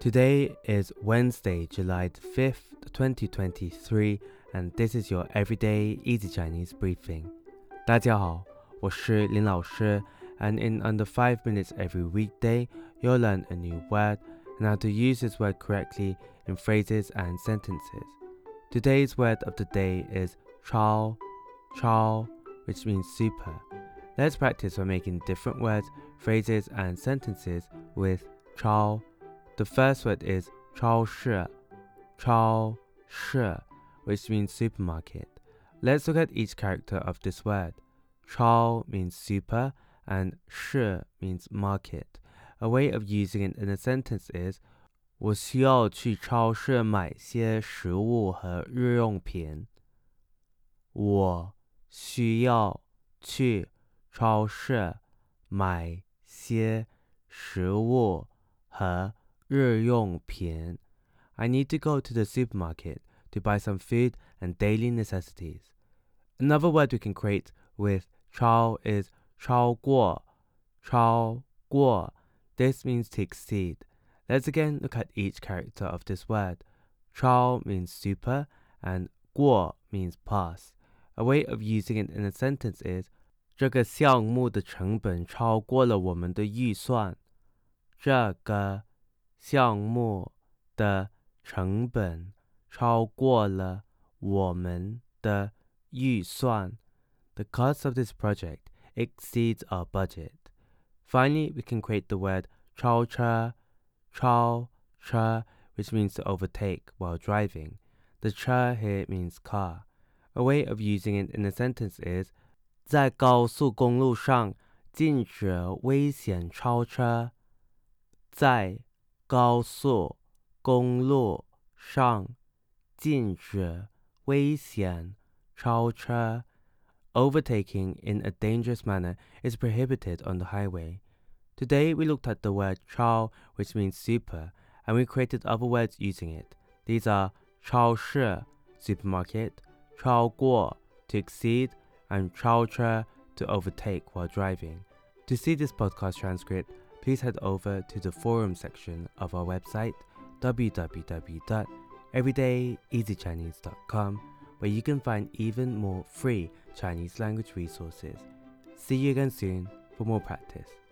Today is Wednesday, July 5th, 2023, and this is your Everyday Easy Chinese Briefing. 大家好，我是林老师, and in under 5 minutes every weekday, you'll learn a new word and how to use this word correctly in phrases and sentences. Today's word of the day is chao, which means super. Let's practice by making different words, phrases, and sentences with chao. The first word is 超市, which means supermarket. Let's look at each character of this word. 超 means super and 市 means market. A way of using it in a sentence is 我需要去超市买些食物和日用品。我需要去超市买些食物和日用品。I need to go to the supermarket to buy some food and daily necessities. Another word we can create with 超 is 超过. This means to exceed. Let's again look at each character of this word. 超 means super and 过 means pass. A way of using it in a sentence is 这个项目的成本超过了我们的预算。这个项目的成本超过了我们的预算。The cost of this project exceeds our budget. Finally, we can create the word 超车, which means to overtake while driving. The 车 here means car. A way of using it in a sentence is 在高速公路上禁止危险超车。在高速公路上禁止危险超车。Overtaking in a dangerous manner is prohibited on the highway. Today we looked at the word 超, which means super, and we created other words using it. These are 超市 supermarket, 超过 to exceed, and 超车 to overtake while driving. To see this podcast transcript, please head over to the forum section of our website, www.everydayeasychinese.com, where you can find even more free Chinese language resources. See you again soon for more practice.